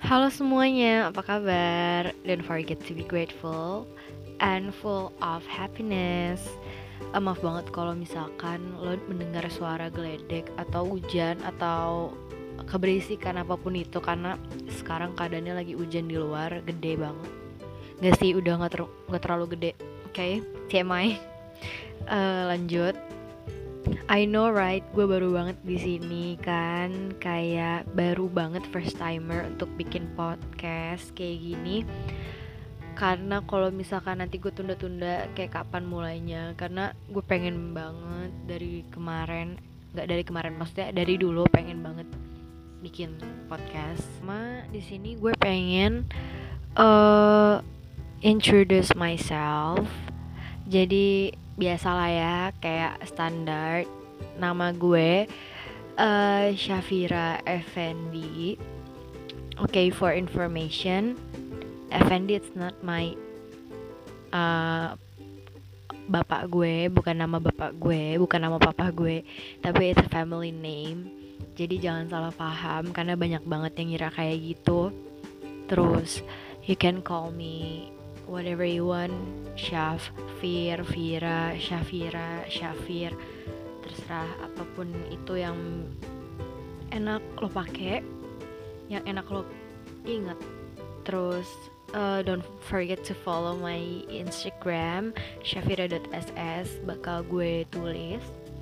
Halo semuanya, apa kabar? Don't forget to be grateful and full of happiness. Maaf banget kalau misalkan lo mendengar suara geledek atau hujan atau keberisikan apapun itu, karena sekarang keadaannya lagi hujan di luar, gede banget. Gak sih, udah gak terlalu gede. Oke, TMI. Lanjut. I know right, gue baru banget di sini kan, kayak baru banget first timer untuk bikin podcast kayak gini. Karena kalau misalkan nanti gue tunda-tunda kayak kapan mulainya, karena gue pengen banget dari kemarin, nggak dari kemarin maksudnya dari dulu pengen banget bikin podcast. Di sini gue pengen uh, introduce myself. Jadi biasalah ya, kayak standar. Nama gue Syafira Effendi. Okay, for information, Effendi it's not my bapak gue, bukan nama bapak gue, bukan nama papa gue, tapi it's a family name. Jadi jangan salah paham karena banyak banget yang ngira kayak gitu. Terus you can call me whatever you want, Syafir, Vira, Syafira, Syafir, terserah apapun itu yang enak lo pakai, yang enak lo ingat. Terus don't forget to follow my Instagram syafira.ss, bakal gue tulis.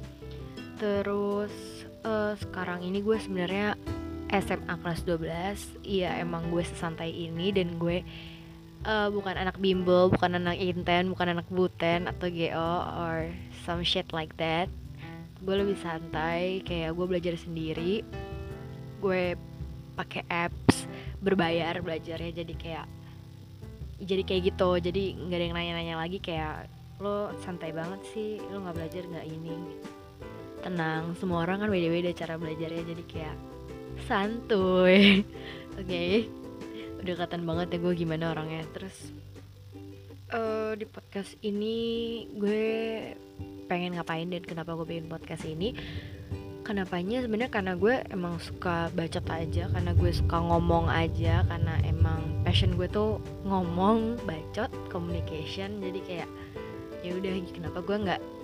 Terus sekarang ini gue sebenarnya SMA kelas 12. Iya, emang gue sesantai ini, dan gue bukan anak bimbel, bukan anak inten, bukan anak buten atau GO or some shit like that. Gue lebih santai, kayak gue belajar sendiri. Gue pakai apps berbayar belajarnya, jadi kayak gitu. Jadi nggak ada yang nanya-nanya lagi kayak lo santai banget sih, lo nggak belajar nggak ini. Tenang, semua orang kan beda-beda cara belajarnya, jadi kayak santuy. Oke, udah kelihatan banget ya gue gimana orangnya. Terus di podcast ini gue pengen ngapain dan kenapa gue bikin podcast ini. Kenapanya sebenarnya karena gue emang suka bacot aja, karena gue suka ngomong aja, karena emang passion gue tuh ngomong, bacot, communication. Jadi kayak ya udah, kenapa gue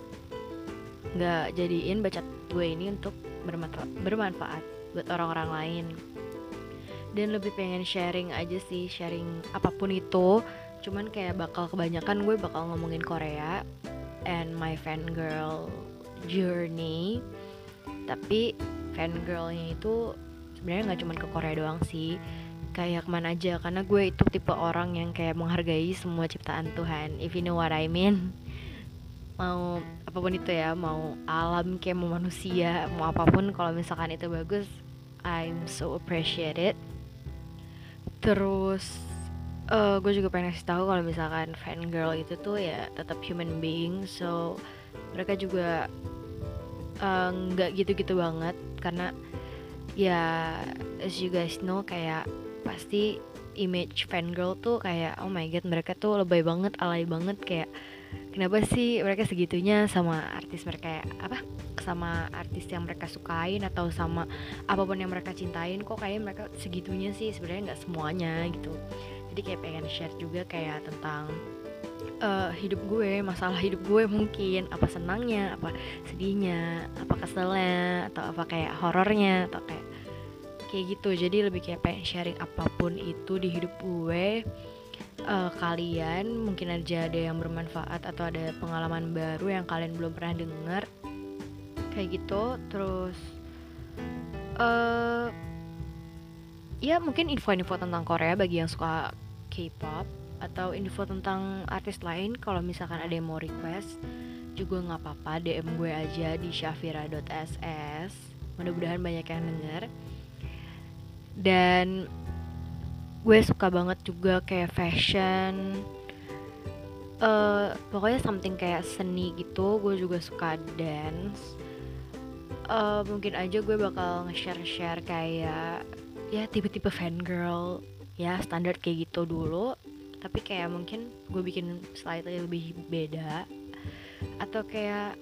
nggak jadiin bacot gue ini untuk bermanfaat buat orang-orang lain. Dan lebih pengen sharing aja sih, sharing apapun itu. Cuman kayak kebanyakan gue bakal ngomongin Korea and my fangirl journey. Tapi fangirlnya itu sebenarnya nggak cuma ke Korea doang sih, kayak kemana aja, karena gue itu tipe orang yang kayak menghargai semua ciptaan Tuhan, if you know what I mean. Mau apapun itu ya, mau alam kayak mau manusia, mau apapun, kalau misalkan itu bagus, I'm so appreciate it. Terus gue juga pengen kasih tahu kalau misalkan fangirl itu tuh ya tetap human being, so mereka juga nggak gitu-gitu banget, karena ya as you guys know, kayak pasti image fangirl tuh kayak oh my god, mereka tuh lebay banget, alay banget, kayak kenapa sih mereka segitunya sama artis mereka, apa, sama artis yang mereka sukain atau sama apapun yang mereka cintain, kok kayak mereka segitunya sih. Sebenarnya nggak semuanya gitu. Jadi kayak pengen share juga kayak tentang hidup gue, masalah hidup gue, mungkin apa senangnya, apa sedihnya, apa keselnya, atau apa kayak horornya, atau kayak gitu. Jadi lebih kayak pengen sharing apapun itu di hidup gue. Kalian mungkin aja ada yang bermanfaat atau ada pengalaman baru yang kalian belum pernah dengar kayak gitu. Terus ya mungkin info-info tentang Korea bagi yang suka K-pop, atau info tentang artis lain. Kalau misalkan ada yang mau request juga nggak apa-apa, DM gue aja di syafira.ss. Mudah-mudahan banyak yang denger. Dan gue suka banget juga kayak fashion, pokoknya something kayak seni gitu. Gue juga suka dance. Mungkin aja gue bakal nge-share kayak ya tipe-tipe fangirl ya, standar kayak gitu dulu, tapi kayak mungkin gue bikin slightly lebih beda. Atau kayak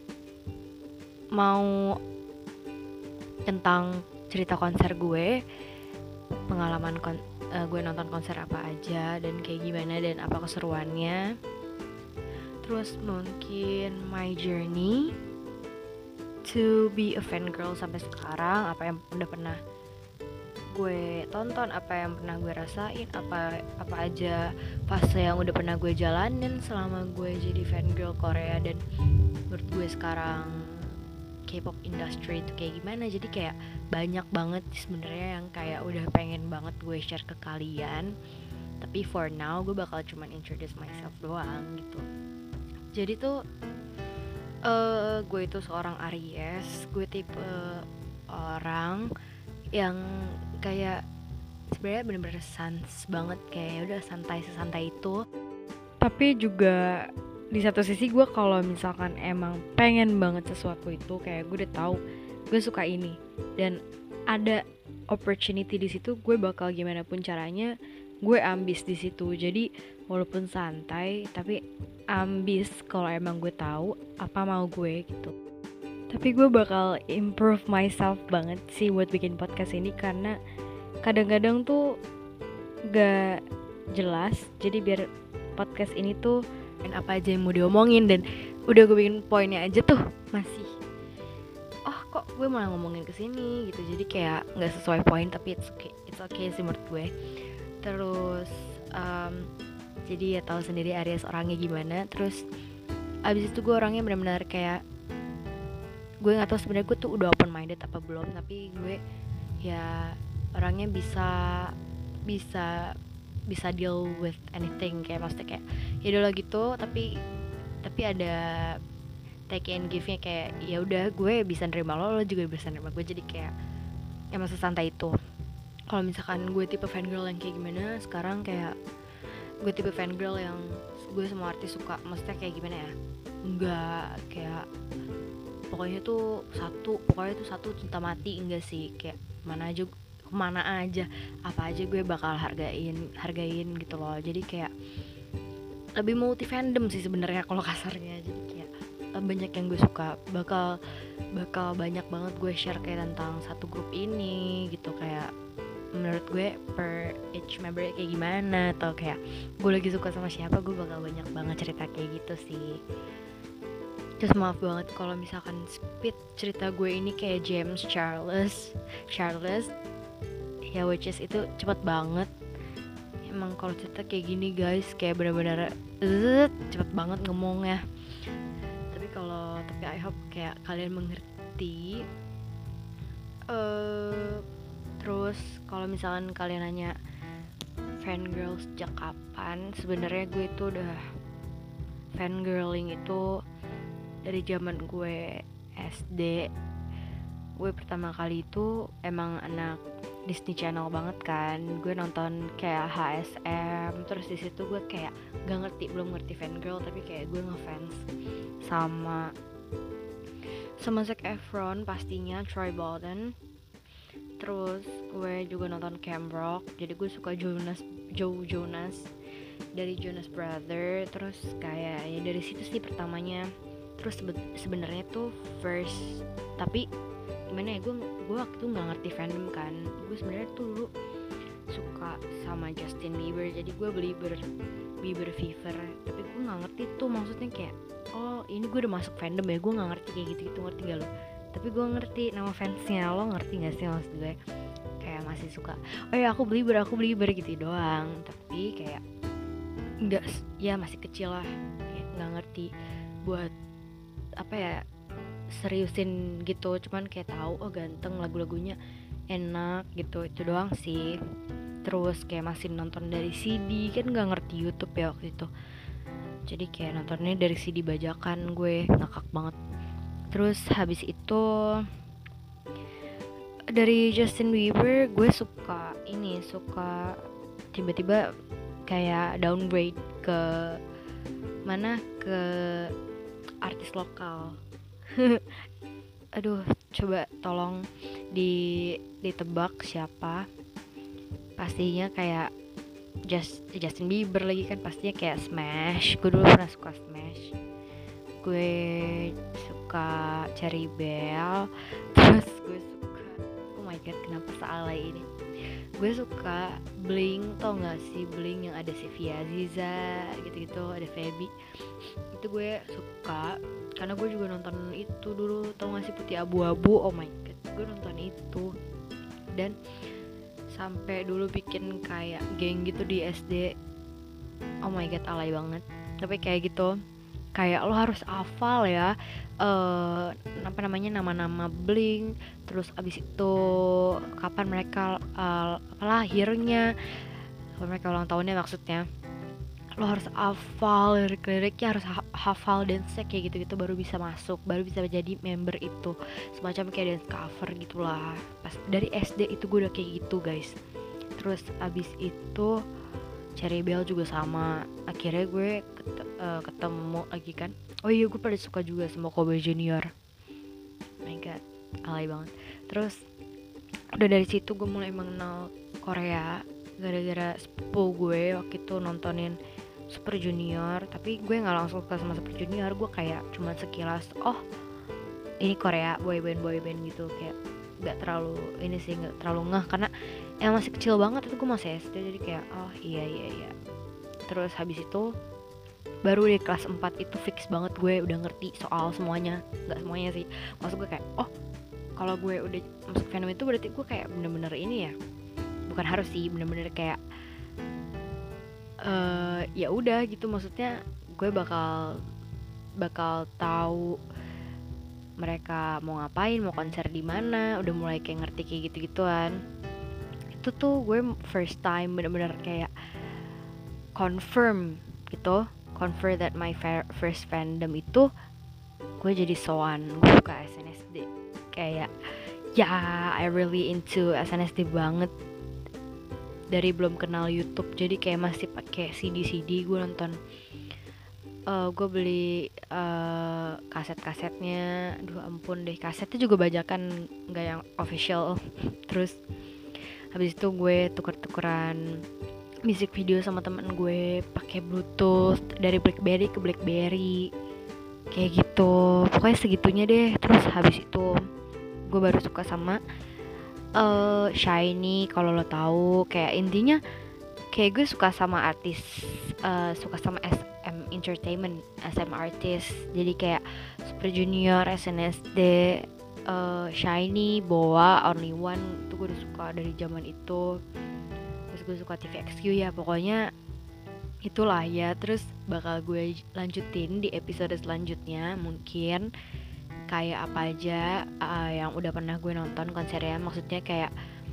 mau tentang cerita konser gue, pengalaman gue nonton konser apa aja dan kayak gimana dan apa keseruannya. Terus mungkin my journey to be a fan girl sampai sekarang, apa yang udah pernah gue tonton, apa yang pernah gue rasain, apa aja fase yang udah pernah gue jalanin selama gue jadi fan girl Korea, dan menurut gue sekarang K-pop industry itu kayak gimana. Jadi kayak banyak banget sebenarnya yang kayak udah pengen banget gue share ke kalian, tapi for now gue bakal cuman introduce myself doang gitu. Jadi tuh gue itu seorang Aries. Gue tipe orang yang kayak sebenarnya bener-bener sans banget, kayak udah santai sesantai itu. Tapi juga di satu sisi gue kalau misalkan emang pengen banget sesuatu itu, kayak gue udah tahu gue suka ini dan ada opportunity di situ, gue bakal gimana pun caranya gue ambis di situ. Jadi walaupun santai tapi ambis kalau emang gue tahu apa mau gue gitu. Tapi gue bakal improve myself banget sih buat bikin podcast ini, karena kadang-kadang tuh gak jelas. Jadi biar podcast ini tuh apa aja yang mau diomongin, dan udah gue bikin poinnya aja tuh masih kok gue malah ngomongin kesini gitu. Jadi kayak gak sesuai poin, tapi it's okay sih menurut gue. Terus jadi ya tahu sendiri Aries orangnya gimana. Terus abis itu gue orangnya benar-benar kayak, gue nggak tahu sebenarnya gue tuh udah open minded apa belum, tapi gue ya orangnya bisa deal with anything, kayak maksudnya kayak ya udah gitu, tapi ada take and give-nya, kayak ya udah gue bisa nerima lo juga bisa nerima gue. Jadi kayak emang sesantai itu. Kalau misalkan gue tipe fangirl yang kayak gimana sekarang, kayak gue tipe fangirl yang gue semua artis suka. Maksudnya kayak gimana ya, enggak kayak pokoknya tuh satu cinta mati, enggak sih. Kayak kemana aja apa aja gue bakal hargain gitu loh. Jadi kayak lebih multi fandom sih sebenarnya kalau kasarnya. Jadi kayak banyak yang gue suka, bakal banyak banget gue share kayak tentang satu grup ini gitu, kayak menurut gue per each member kayak gimana, atau kayak gue lagi suka sama siapa, gue bakal banyak banget cerita kayak gitu sih. Terus maaf banget kalau misalkan speed cerita gue ini kayak James Charles ya, which is itu cepet banget. Emang kalau cerita kayak gini guys, kayak benar-benar cepet banget ngomongnya. Tapi I hope kayak kalian mengerti. Terus kalau misalkan kalian nanya fangirl sejak kapan, sebenarnya gue itu udah fangirling itu dari zaman gue SD. Gue pertama kali itu emang anak Disney Channel banget kan. Gue nonton kayak HSM, terus di situ gue kayak belum ngerti fangirl, tapi kayak gue ngefans sama Zac Efron pastinya, Troy Bolton. Terus gue juga nonton Camp Rock, jadi gue suka Joe Jonas dari Jonas Brother. Terus kayak ya dari situ sih pertamanya. Terus sebenarnya tuh first, tapi gimana ya, gue waktu itu nggak ngerti fandom kan. Gue sebenarnya tuh dulu suka sama Justin Bieber, jadi gue beli Bieber Fever, tapi gue nggak ngerti tuh maksudnya kayak ini gue udah masuk fandom ya. Gue nggak ngerti kayak gitu, ngerti gak lo? Tapi gue ngerti nama fansnya. Lo ngerti nggak sih maksud gue? Kayak masih suka aku Belieber gitu doang, tapi kayak nggak, ya masih kecil lah, kayak nggak ngerti buat apa ya, seriusin gitu. Cuman kayak tahu ganteng, lagu-lagunya enak gitu, itu doang sih. Terus kayak masih nonton dari CD, kan nggak ngerti YouTube ya waktu itu, jadi kayak nontonnya dari CD bajakan. Gue ngakak banget. Terus habis itu dari Justin Bieber gue suka tiba-tiba kayak downgrade ke artis lokal. Aduh, coba tolong ditebak siapa. Pastinya kayak Justin Bieber lagi kan, pastinya kayak Smash. Gue dulu pernah suka Smash. Gue suka Cherry Bell. Terus gue my god, kenapa sealay ini. Gue suka Blink, tau gak sih Blink yang ada Sylvia Ziza gitu-gitu, ada Feby. Itu gue suka karena gue juga nonton itu dulu, tau gak sih Putih Abu-Abu. Oh my god, gue nonton itu. Dan sampai dulu bikin kayak geng gitu di SD. Oh my god, alay banget. Tapi kayak gitu, kayak lo harus hafal ya apa namanya, nama-nama Blink, terus abis itu kapan mereka lahirnya, kapan mereka ulang tahunnya maksudnya. Lo harus hafal lirik-liriknya, harus hafal dance kayak gitu-gitu baru bisa masuk, baru bisa jadi member itu, semacam kayak dance cover gitulah. Pas dari SD itu gue udah kayak gitu guys. Terus abis itu Cherry Bell juga sama, akhirnya gue ketemu lagi kan. Oh iya, gue pada suka juga sama Kobe Junior. Oh my god, alay banget. Terus udah dari situ gue mulai mengenal Korea gara-gara sepupu gue waktu itu nontonin Super Junior. Tapi gue nggak langsung suka sama Super Junior, gue kayak cuma sekilas, oh ini Korea boyband gitu, kayak nggak terlalu ini sih, nggak terlalu ngeh karena yang masih kecil banget, itu gue masih SD, jadi kayak oh iya. Terus habis itu baru di kelas 4 itu fix banget gue udah ngerti soal semuanya. Nggak semuanya sih, maksud gue kayak oh kalau gue udah masuk fandom itu berarti gue kayak bener-bener ini ya, bukan harus sih, bener-bener kayak ya udah gitu, maksudnya gue bakal tahu mereka mau ngapain, mau konser di mana, udah mulai kayak ngerti kayak gitu-gituan. Itu tuh gue first time bener-bener kayak confirm that my first fandom itu gue jadi soan, gue suka SNSD. Kayak ya I really into SNSD banget dari belum kenal YouTube, jadi kayak masih pakai CD gue nonton. Gue beli kaset-kasetnya, aduh ampun deh, kasetnya juga bajakan, nggak yang official. Terus habis itu gue tuker-tukeran music video sama temen gue pakai Bluetooth dari BlackBerry ke BlackBerry kayak gitu, pokoknya segitunya deh. Terus habis itu gue baru suka sama SHINee, kalau lo tahu. Kayak intinya kayak gue suka sama artis, suka sama SM Entertainment, SM artis. Jadi kayak Super Junior, SNSD, SHINee, BoA, Only One, itu gue udah suka dari zaman itu. Terus gue suka TVXQ ya, pokoknya itulah ya. Terus bakal gue lanjutin di episode selanjutnya, mungkin kayak apa aja yang udah pernah gue nonton konsernya, maksudnya kayak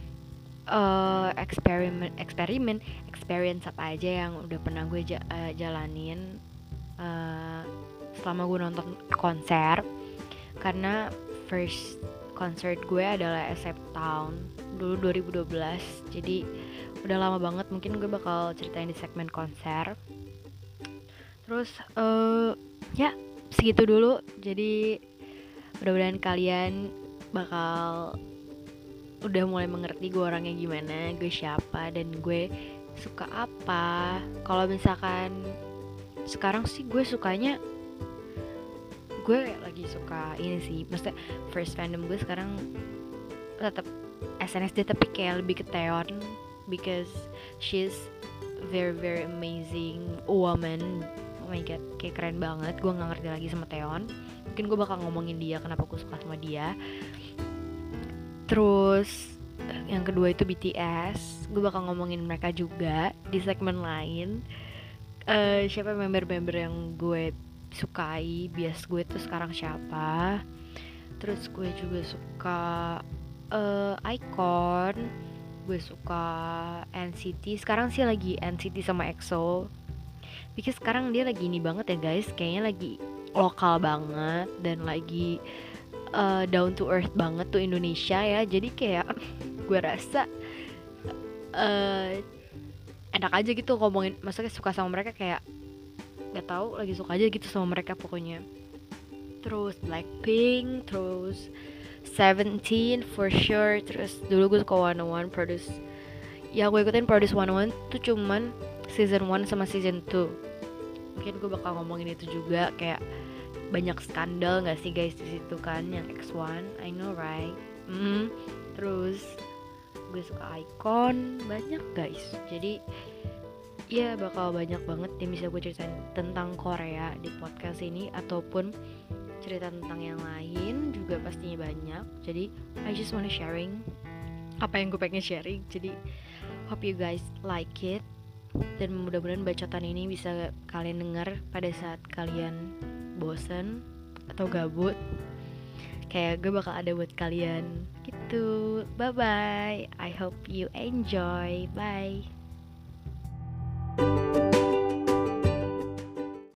experience apa aja yang udah pernah gue jalanin selama gue nonton konser. Karena first concert gue adalah SF Town dulu 2012, jadi udah lama banget. Mungkin gue bakal ceritain di segmen konser. Terus ya segitu dulu. Jadi mudah-mudahan kalian bakal udah mulai mengerti gue orangnya gimana, gue siapa, dan gue suka apa. Kalau misalkan sekarang sih gue sukanya, gue lagi suka ini sih, maksudnya first fandom gue sekarang tetap SNSD, tapi kayak lebih ke Taeyeon because she's very amazing woman. Oh my god, kayak keren banget. Gue nggak ngerti lagi sama Taeyeon. Mungkin gue bakal ngomongin dia, kenapa gue suka sama dia. Terus yang kedua itu BTS, gue bakal ngomongin mereka juga di segmen lain. Siapa member-member yang gue sukai, bias gue tuh sekarang siapa. Terus gue juga suka iKON, gue suka NCT. Sekarang sih lagi NCT sama EXO, because sekarang dia lagi ini banget ya guys, kayaknya lagi lokal banget dan lagi down to earth banget tuh Indonesia ya. Jadi kayak gue rasa enak aja gitu ngomongin, maksudnya suka sama mereka, kayak gak tahu, lagi suka aja gitu sama mereka pokoknya. Terus Blackpink, terus Seventeen for sure. Terus dulu gue suka 101 Produce. Ya gue ikutin Produce 101 tuh cuman season 1 sama season 2. Mungkin gue bakal ngomongin itu juga, kayak banyak skandal gak sih guys di situ kan, yang X1, I know right. Terus gue suka icon banyak guys, jadi ya bakal banyak banget yang bisa gue ceritain tentang Korea di podcast ini, ataupun cerita tentang yang lain juga pastinya banyak. Jadi I just wanna sharing apa yang gue pengen sharing. Jadi hope you guys like it, dan mudah-mudahan bacotan ini bisa kalian dengar pada saat kalian bosen atau gabut. Kayak gue bakal ada buat kalian gitu. Bye bye, I hope you enjoy. Bye.